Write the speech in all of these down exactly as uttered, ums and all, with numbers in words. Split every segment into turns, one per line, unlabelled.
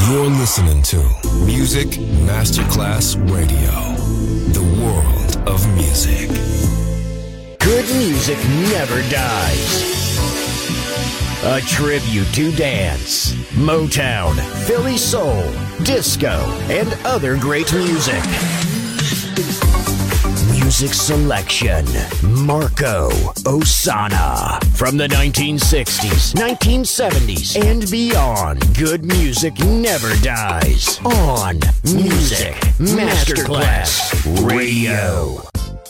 You're listening to Music Masterclass Radio, the world of music.
Good music never dies. A tribute to dance, Motown, Philly soul, disco, and other great music. Music selection, Marco Ossanna. From the nineteen sixties, nineteen seventies, and beyond, good music never dies. On Music Masterclass Radio.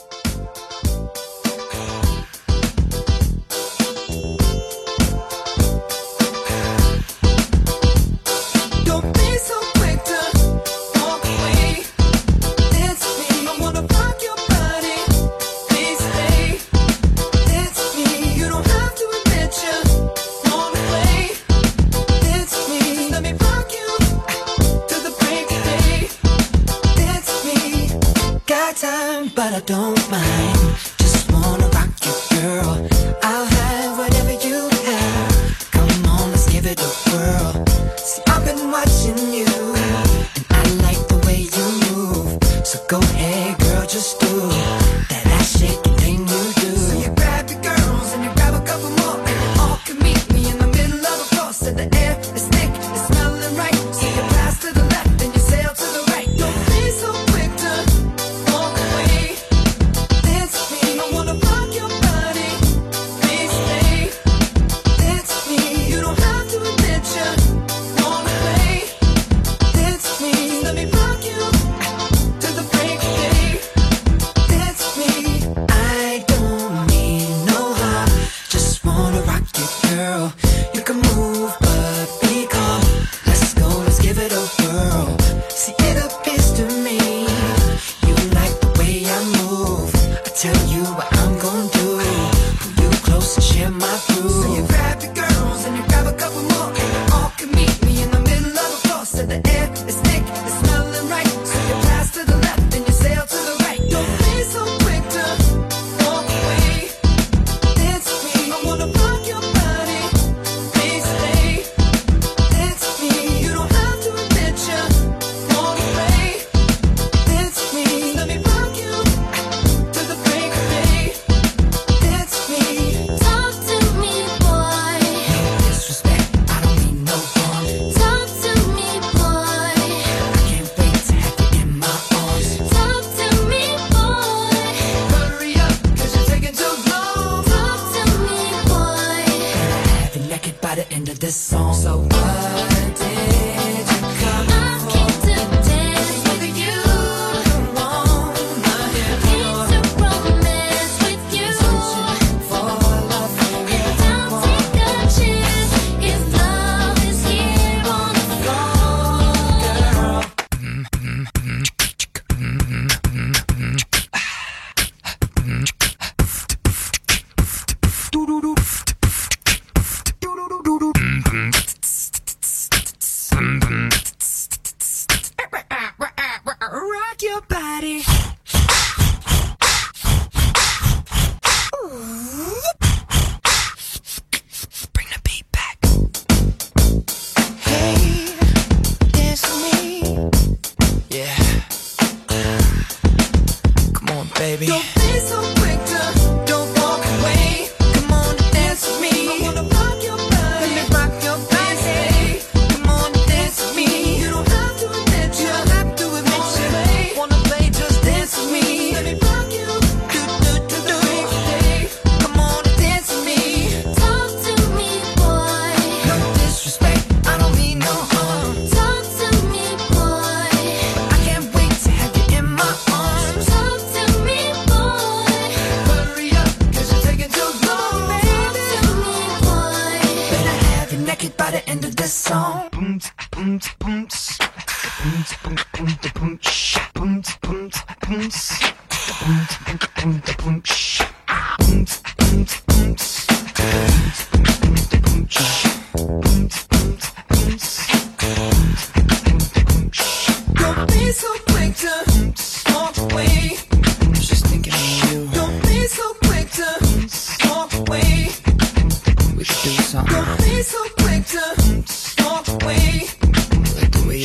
But I don't mind, just wanna rock you, girl. I'll have whatever you have. Come on, let's give it a whirl. See, I've been watching you, and I like the way you move. So go ahead, girl, just do that ass shaking thing you do. So you grab your girls and you grab a couple more, and you all can meet me in the middle of the floor. So the air is thick, it's smelling right. So you pass to the left and you sail to the right. Don't be so quick to walk away.
We should do something. Don't be so quick to walk away. Like the way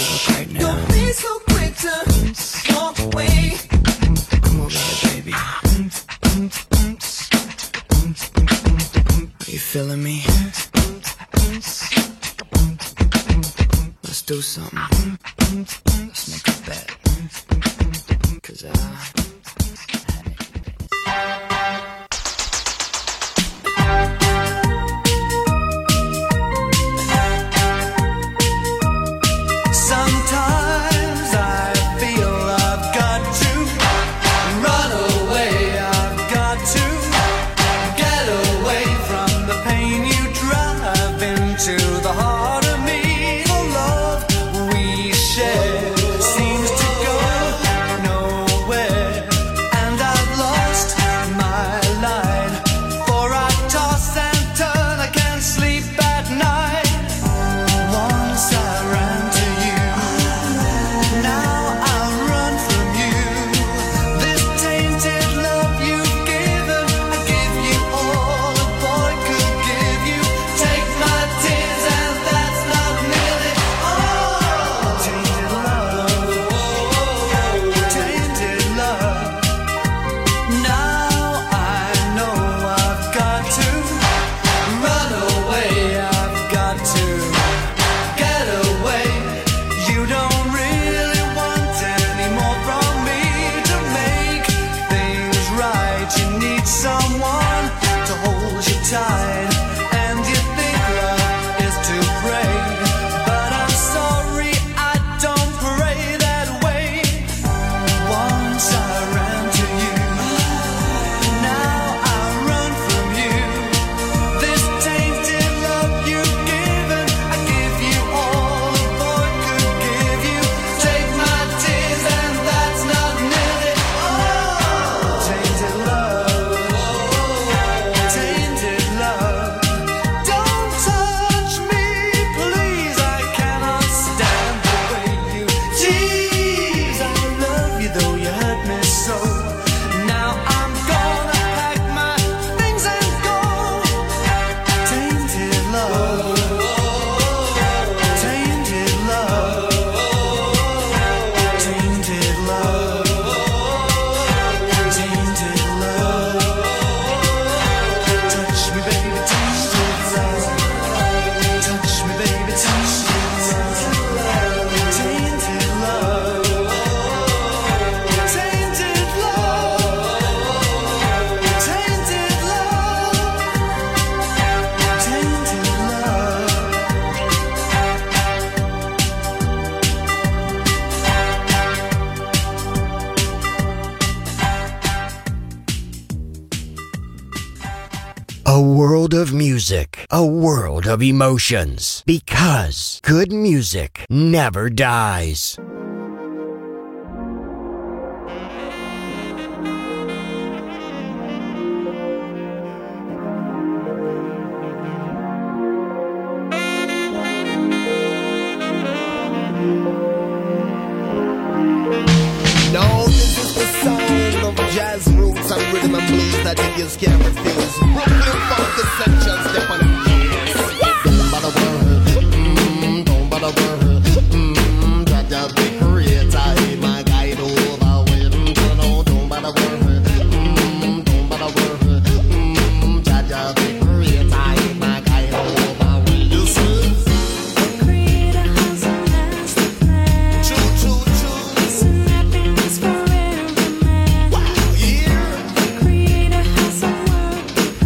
do something. Let's make a bet. Cause I...
Seems to go nowhere.
A world of music, a world of emotions, because good music never dies.
No, this is the sound of jazz roots and rhythm and blues that niggas can't refuse. Brooklyn funk essential, step on it. Don't bother worry, mm, don't bother worry, mm, Jaja the creator, he my guide over with. No, don't bother worry, mm, don't bother worry, mm, Jaja the creator, he my guide over with. You see?
Creator has a master plan.
Choo choo choo.
Some happiness for every man.
Wow, yeah.
Creator has a world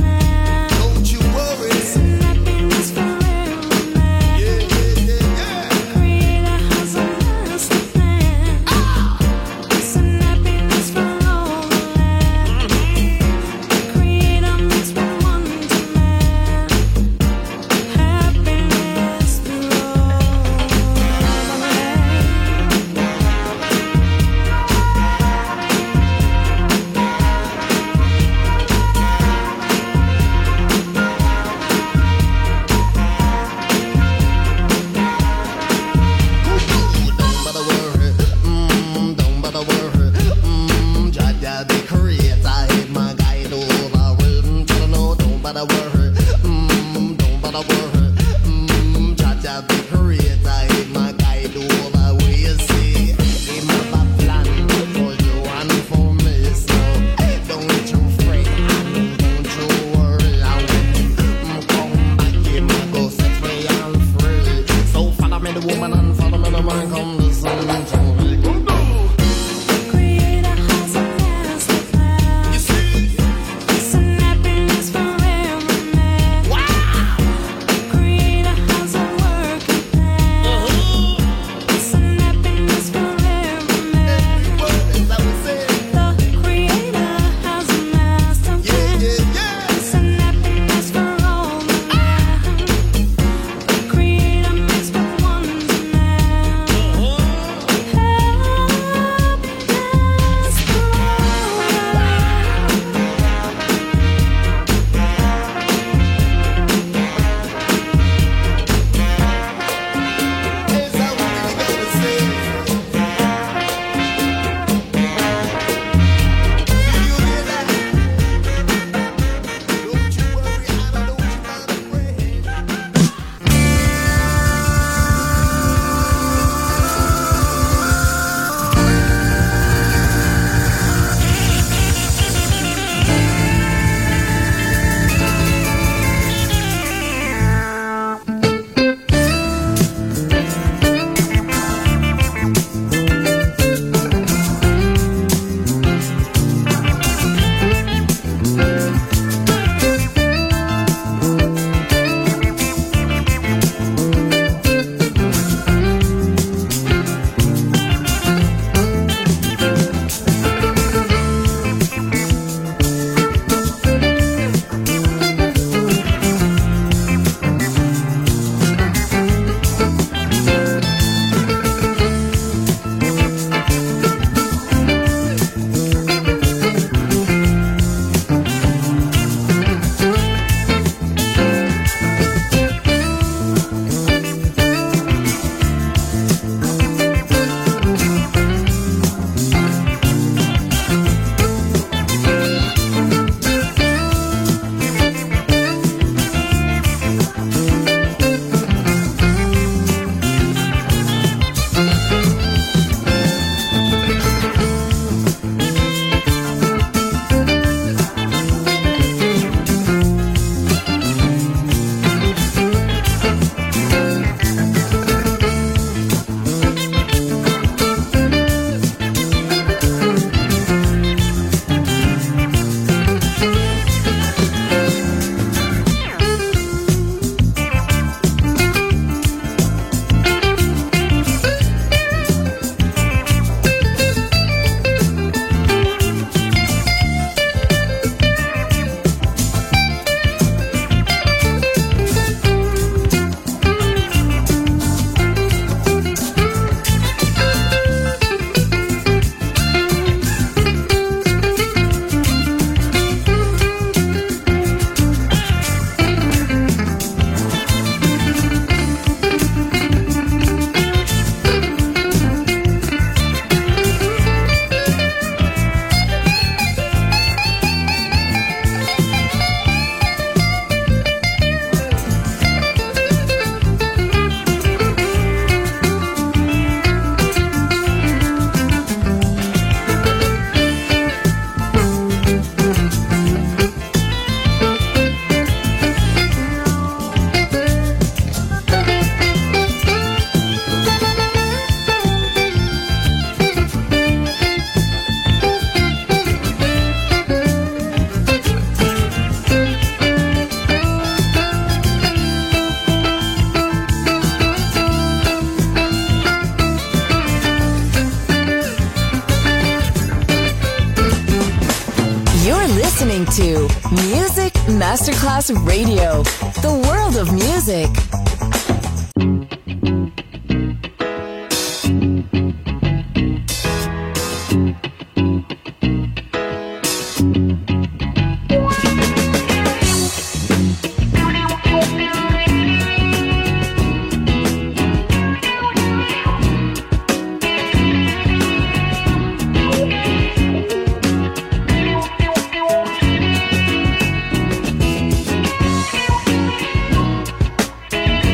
to Music Masterclass Radio, the world of music.
Thank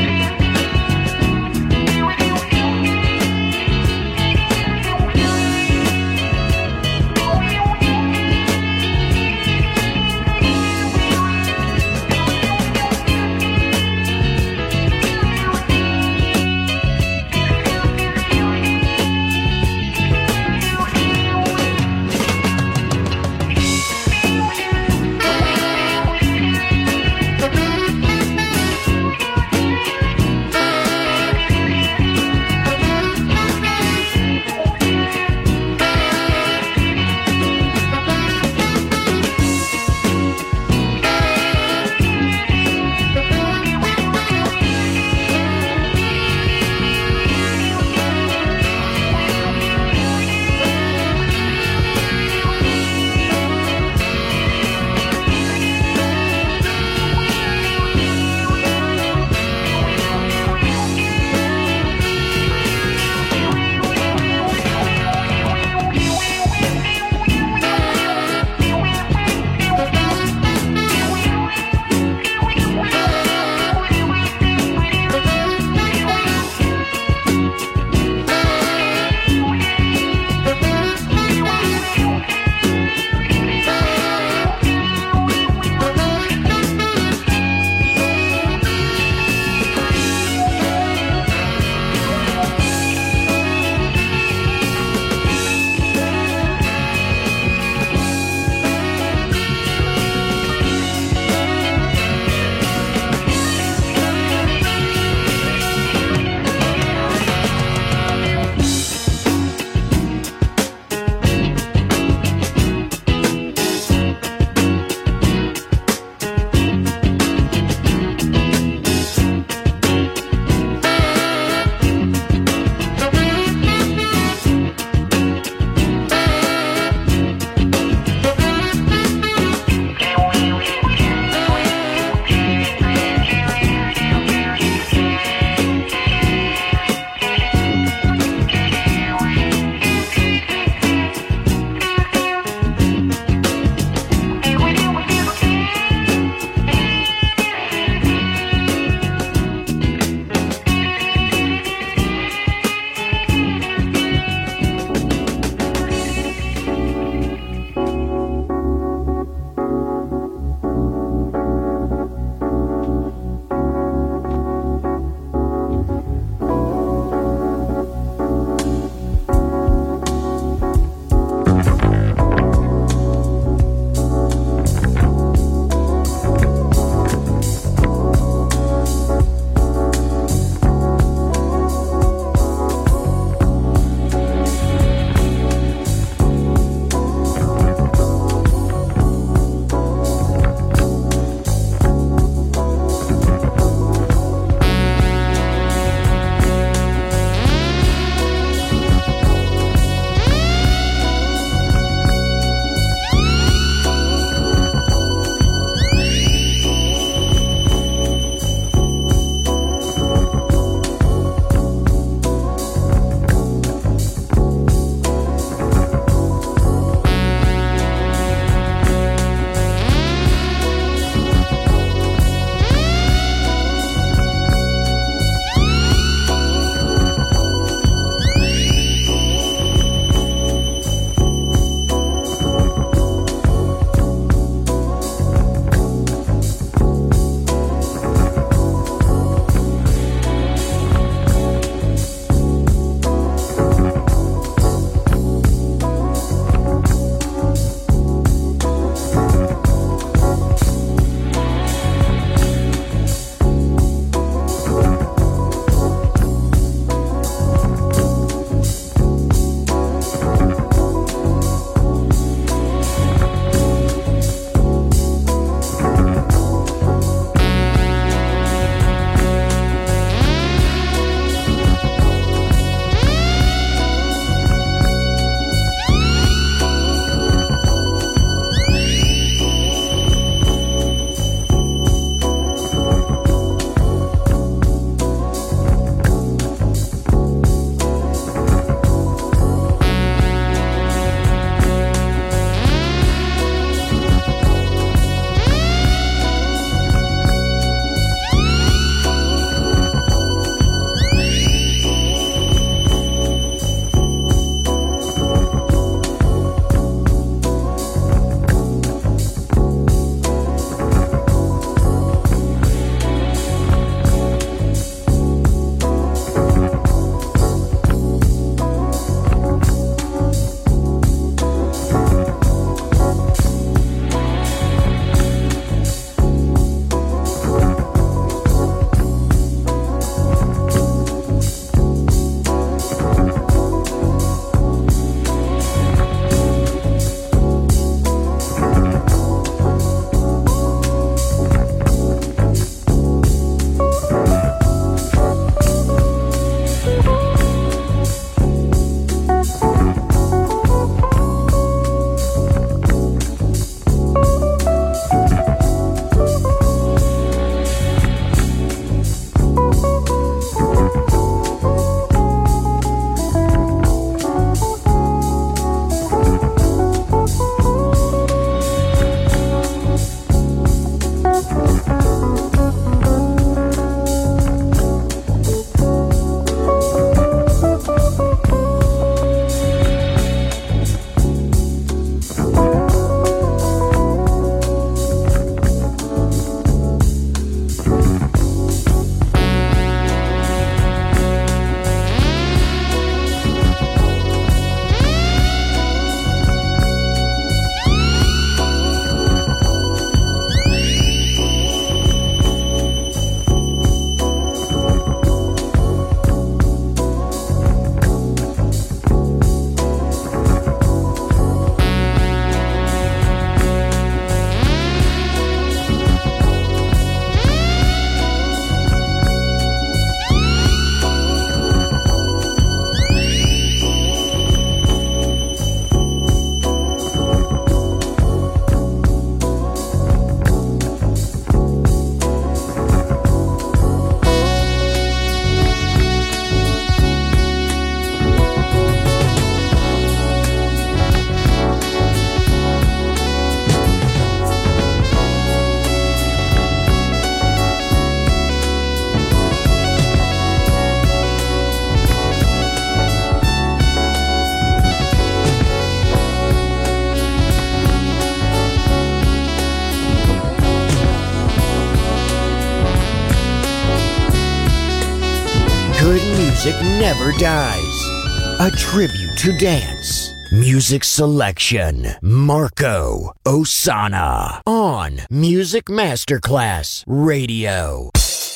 music never dies. A tribute to dance. Music selection, Marco Ossanna on Music Masterclass Radio.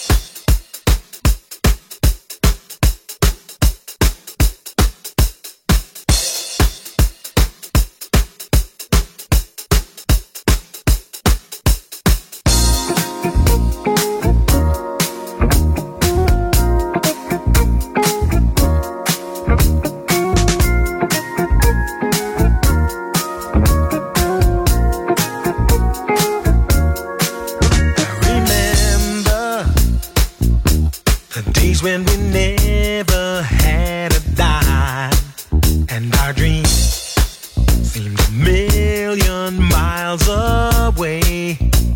When we never had a dime and our dreams seemed a million miles away,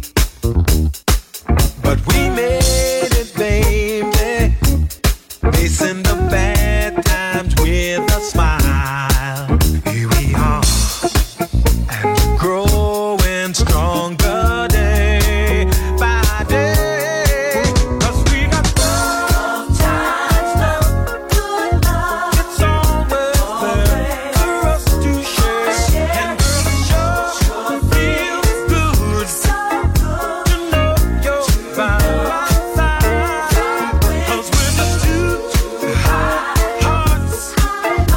but we made it, baby, facing the bad times with a smile. Here we are, and growing stronger day by day.
We'll be right back.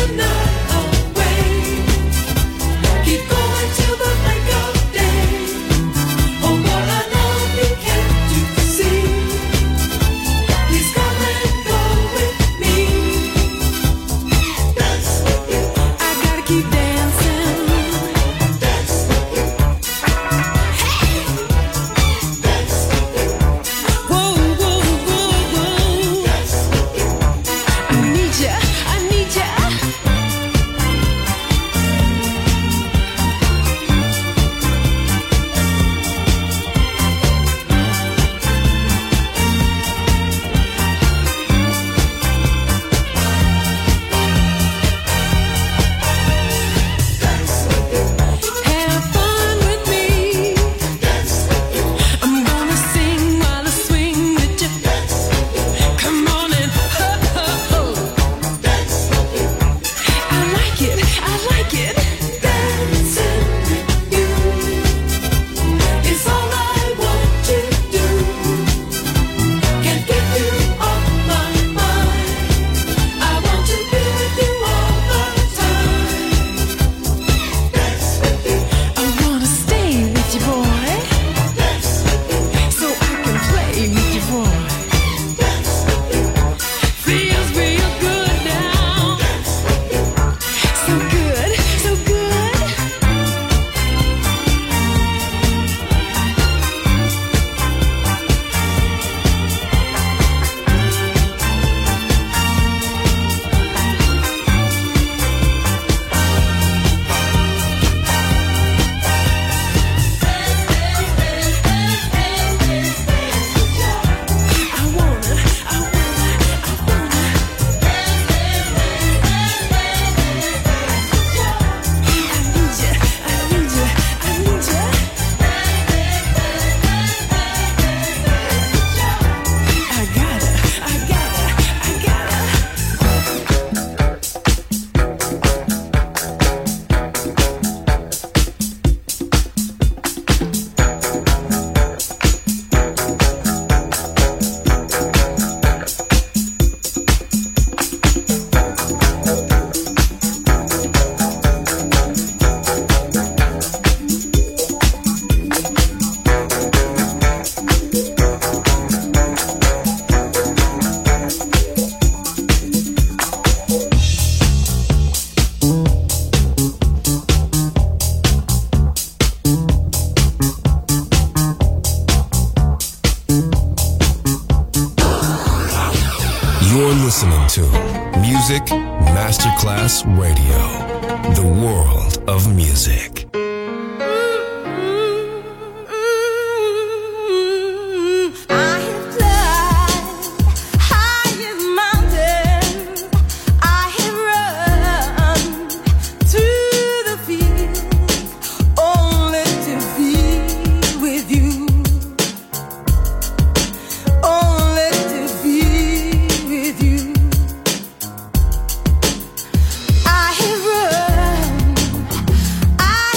listening to Music Masterclass Radio, the world of music.
I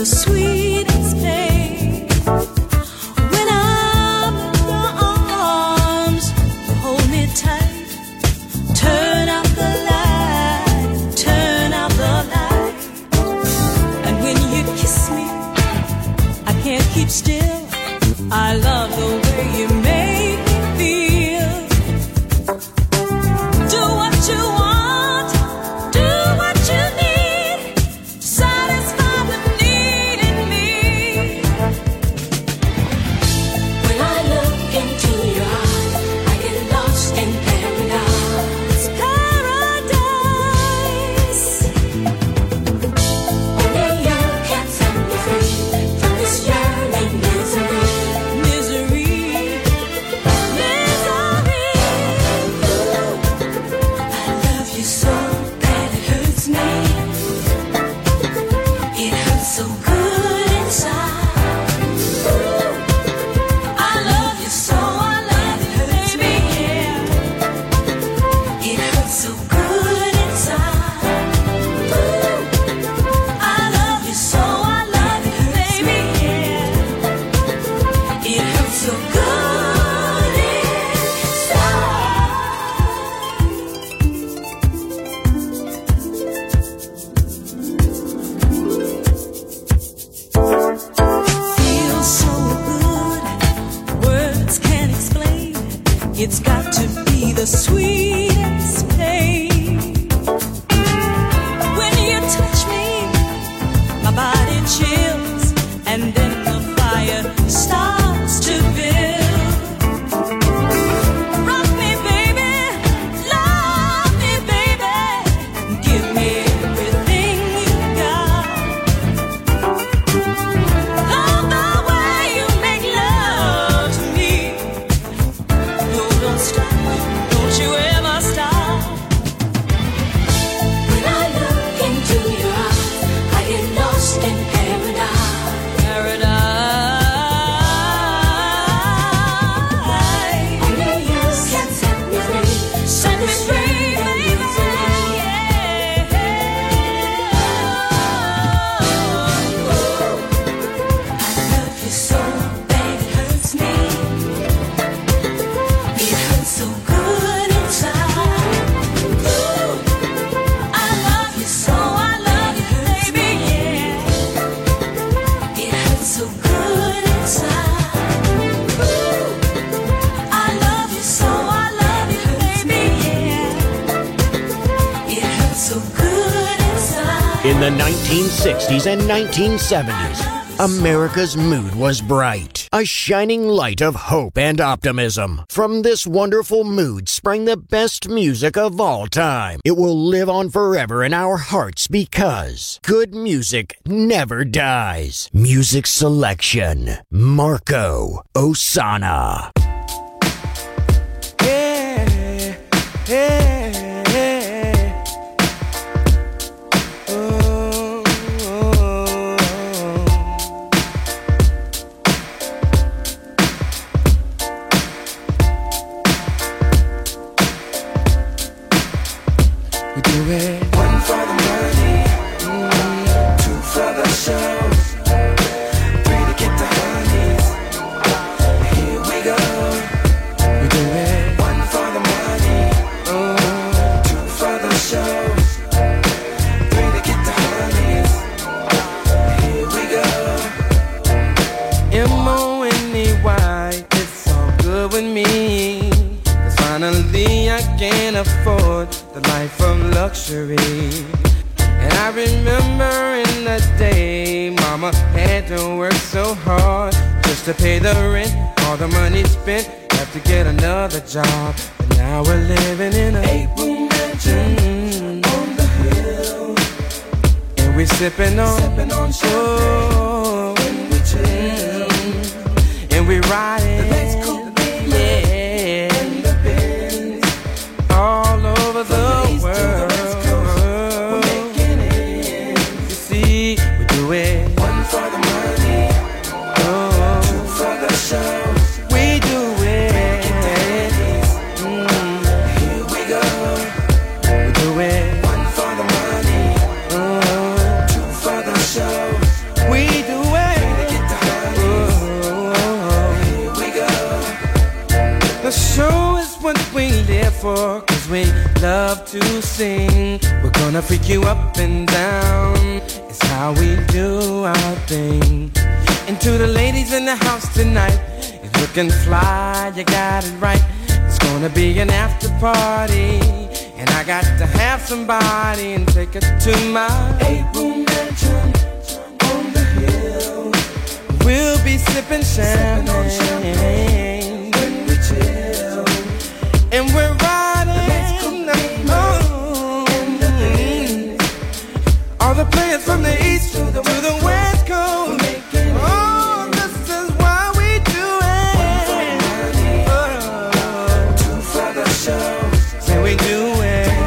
the sweetest pain. When I'm in your arms, you hold me tight. Turn out the light, turn out the light. And when you kiss me, I can't keep still. I love the way you make me feel. Do what you want, do what you need. Satisfy the need in me. When I look into your eyes, I get lost in paradise. Paradise. Only you can set me free from this yearning misery. Misery. Misery. I love you so bad it hurts me. It hurts so good inside. I love you so, I love you, baby, yeah. It hurts so good inside. I love you so, I love you, baby, yeah. It hurts so good inside. Feels so good, words can't explain. It's got to be the sweetest pain. When you touch me, my body chills, and then the fire starts to build. Rock me, baby, love me, baby, give me everything you got. Love the way you make love to me. No, don't stop, don't you ever stop. When I look into your eyes, I get lost in paradise. Paradise. Only you can set me free. Set me free, baby. Yeah. I love you so bad it hurts me. It hurts so good inside. I love you so, I love you, baby, yeah. It hurts so good inside. I love you so, I love you, baby, yeah. It hurts so good inside.
In the nineteen sixties and nineteen seventies, America's mood was bright, a shining light of hope and optimism. From this wonderful mood sprang the best music of all time. It will live on forever in our hearts because good music never dies. Music selection, Marco Ossanna.
Yeah, yeah, yeah. Oh, oh, we do it.
One for the money, mm, two for the show, three to get the honeys. Here we go.
We do it.
One for the money,
Oh,
two for the show, three to get the honeys. Here we go.
M O N E Y, it's all good with me. 'Cause finally I can afford the life of luxury. And I remember in the day, mama had to work so hard just to pay the rent. All the money spent, have to get another job. And now we're living in a
Eight-room mansion
Mm.
on the hill,
and we sipping on,
sipping on champagne
oh,
when we chill.
and we riding,
The lights cool,
yeah,
and the Benz,
all over the
east to the
world.
west coast, we're making it.
You see, we do it.
One for the money,
Oh,
two for the show.
we do it. Mm,
Here we go.
we do it.
One for the money,
Oh,
two for the show.
we for, cause we love to sing. We're gonna freak you up and down. It's how we do our thing. And to the ladies in the house tonight, you're looking fly, you got it right. It's gonna be an after party, and I got to have somebody and take it to my eight-room mansion on the hill. We'll be sipping champagne, sipping champagne when we chill, and we're riding the moon. And the things, all the players from the east to the, to the west coast. Oh, this is why we do it. Oh, two for the show. Say we do it.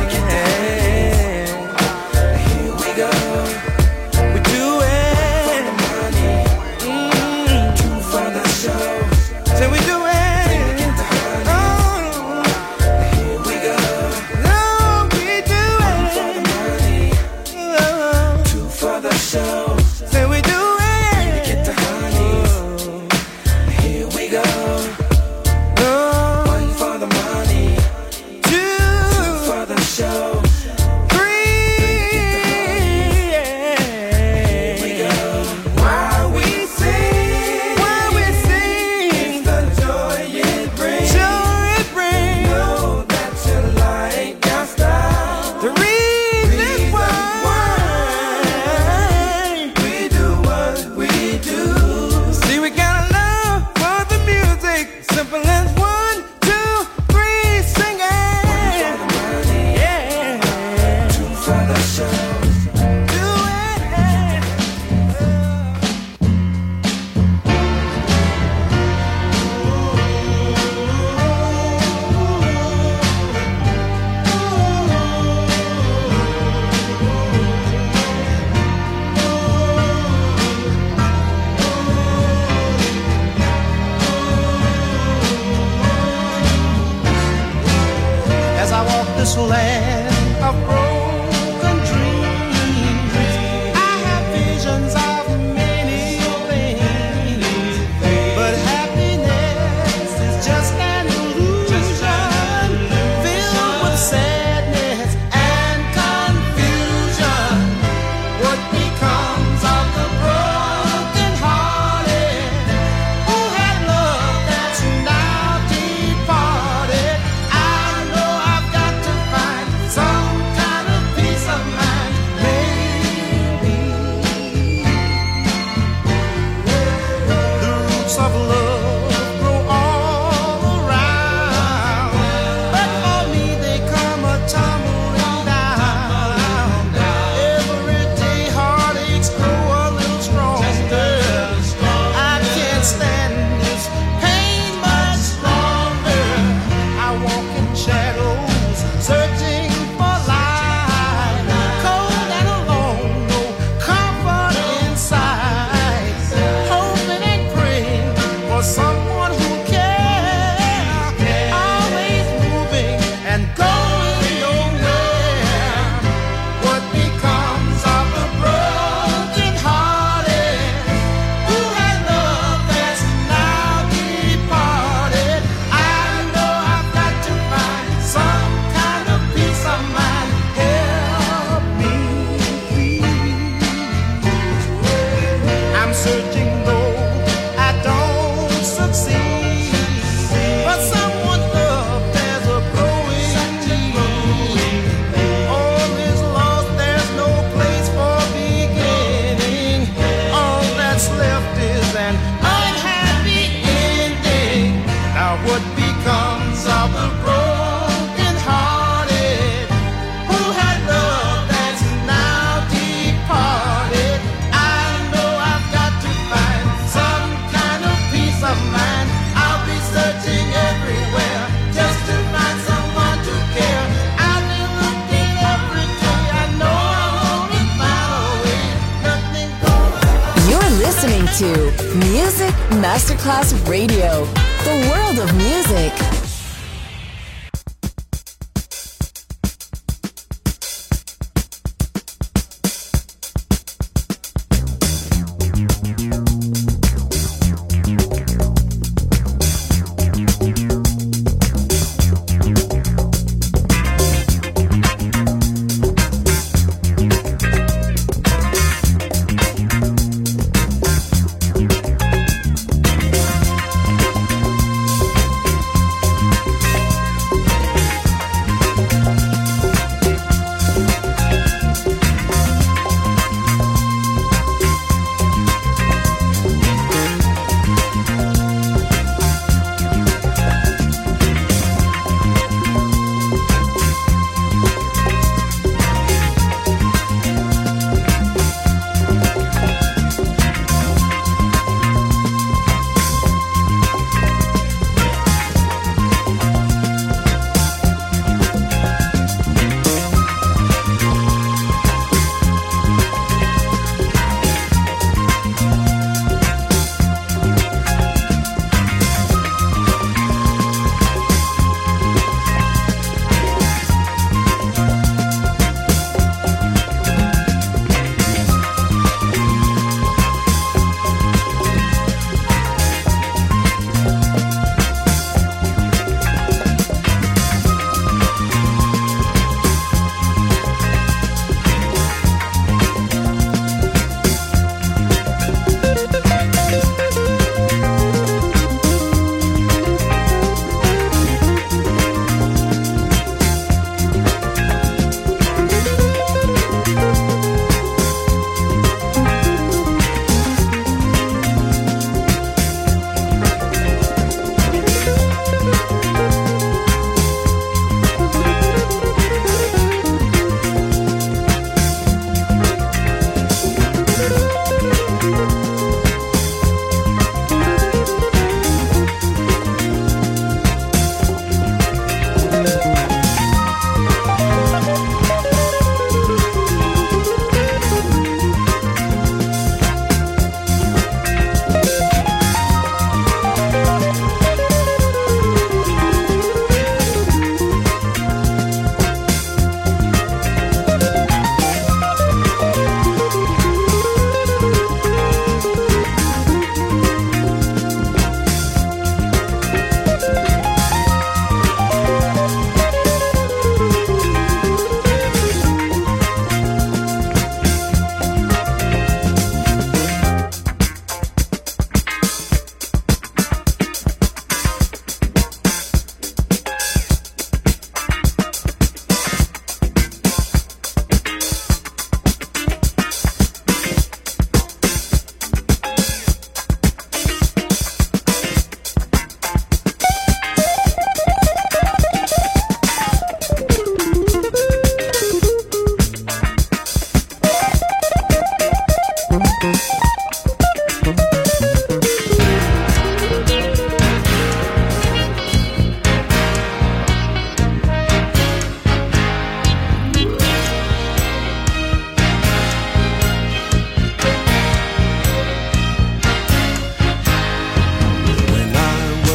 To Music Masterclass Radio, the world of music.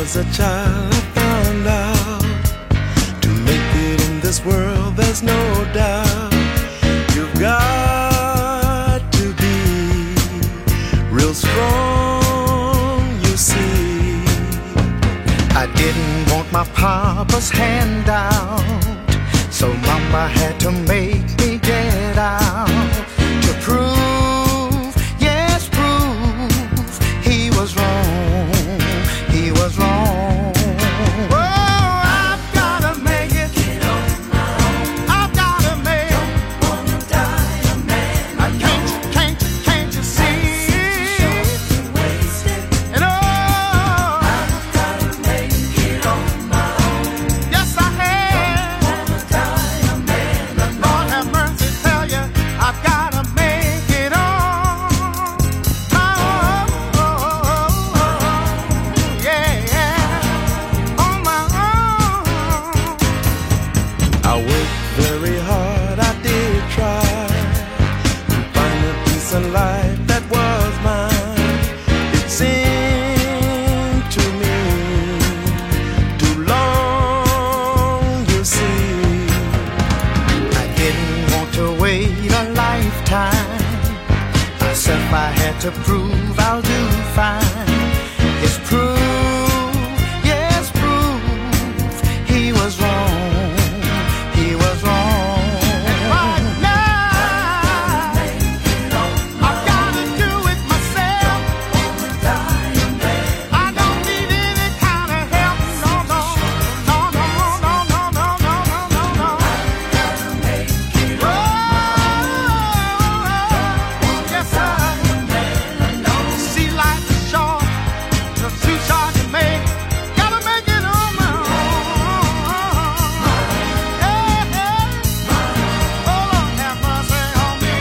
was a child, I found out to make it in this world, there's no doubt you've got to be real strong, you see. I didn't want my papa's handout, so mama had to make me get out to prove, yes, prove he was wrong, he was wrong. Oh, I've gotta make it. Get on my own. I've gotta make it. Don't wanna die a man. I can't, can't, can't you see? And oh, I've gotta make it on my own. Yes, I have. Wanna die a man. Lord have mercy, tell you, I've gotta make it on my own. Yeah, yeah, on my own. I worked very hard, I did try to find a peace in life that was mine. It seemed to me too long, you see. I didn't want to wait a lifetime. Myself I had to prove I'll do fine. It's proof, yes, proof he was wrong, he was wrong. And right now, I've gotta do it myself. I don't need any kind of help, no, no, no, no, no, no, no, no, no, no, no. Oh, yes, sir. See, life is short, it's too short to make. Gotta make it on my own. Yeah, yeah. Oh, Lord, have mercy on me.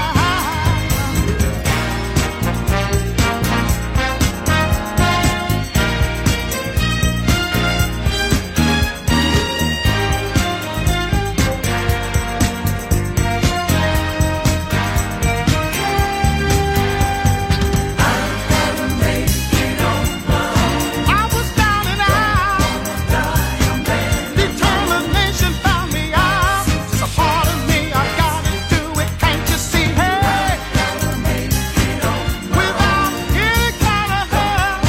I was down and out. Determination found me out. It's a part of me, I gotta do it. Can't you see? Hey, without any kind of help,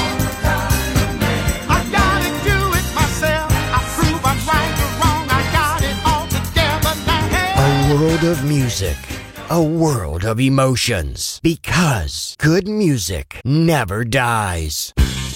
I gotta do it myself. I prove I'm right or wrong. I got it all together now. Hey.
A world of music, a world of emotions. Because good music never dies.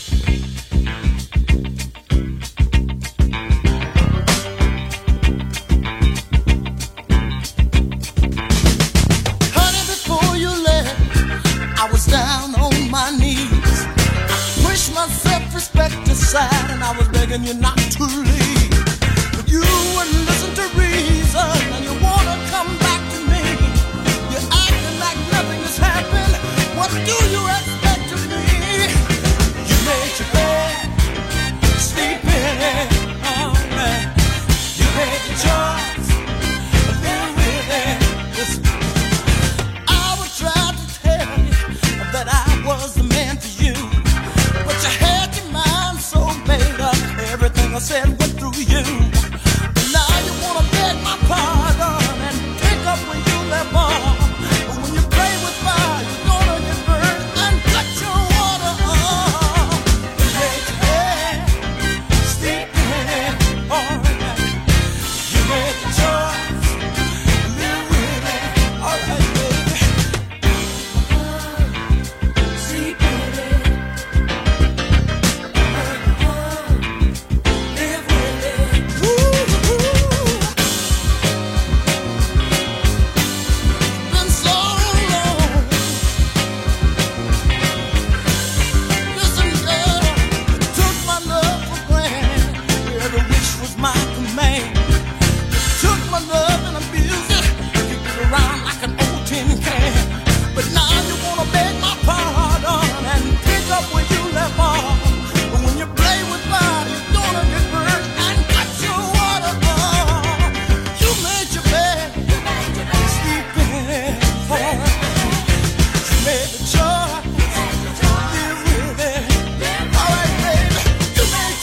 Honey, before you left, I was down on my knees. I pushed my self-respect aside and I was begging you not to leave. But you wouldn't listen to reason and you wanna come back to me. You're acting like nothing has happened. What do you expect of me? You made your bed, sleep in it, oh man. You made your choice, live with it. Listen, I would try to tell you that I was the man for you, but you had your mind so made up, everything I said went through you. But now you wanna beg my pardon and pick up where you left off. But when you play with fire, you're gonna get burned and cut your water off. You made your bed, sleep in it, alright. You made the choice, live with it, alright, baby. Sleep in it, live with it. Ooh, been so long. Listen, girl, you took my love for granted. Every wish was my command. Took my love and abused it, kicked it around like an old tin can. But now you wanna beg my pardon and pick up where you left off. But when you play with fire, you're gonna get burned and cut your water off. You made your bed, sleep in it, alright. You made the choice, live with it, alright, baby. You made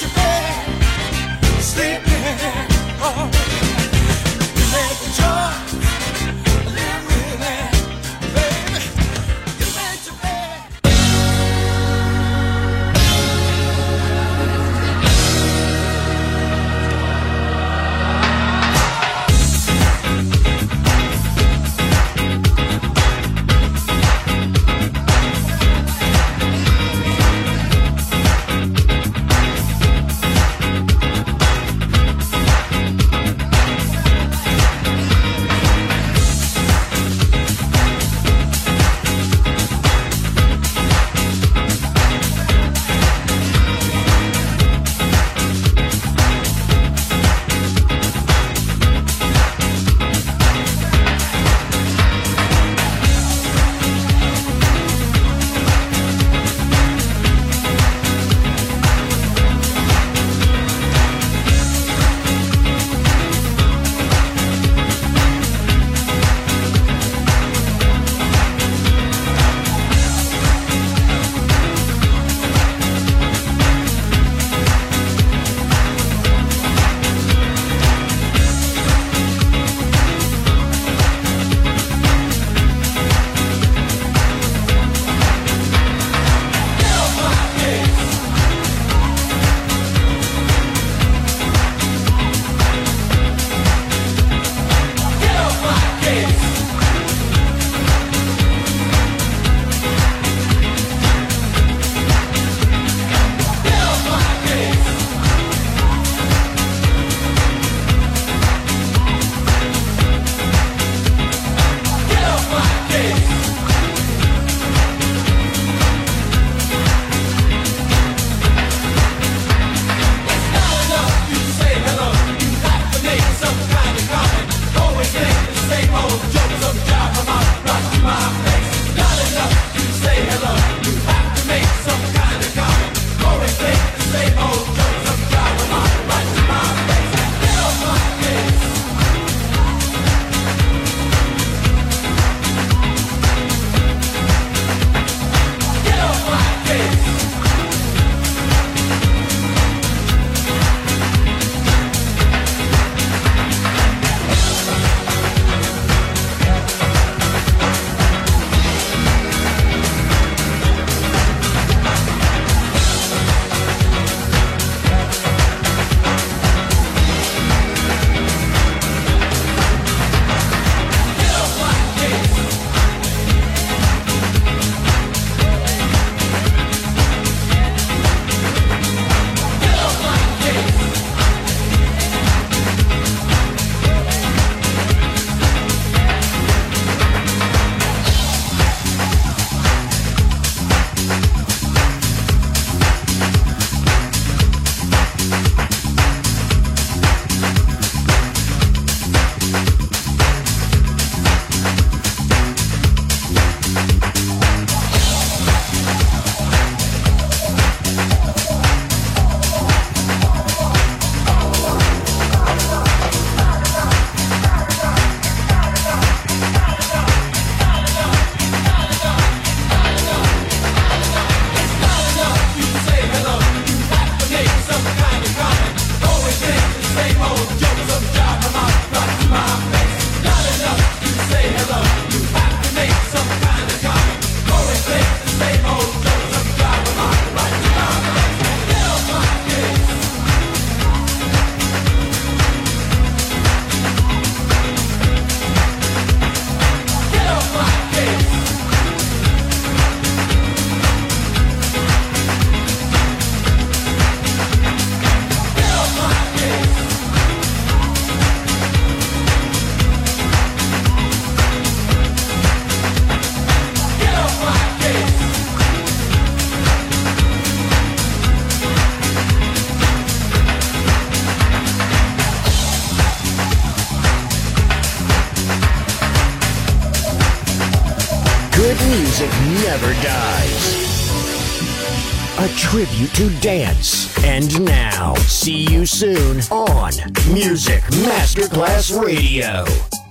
music never dies. A tribute to dance. And now, see you soon on Music Masterclass Radio.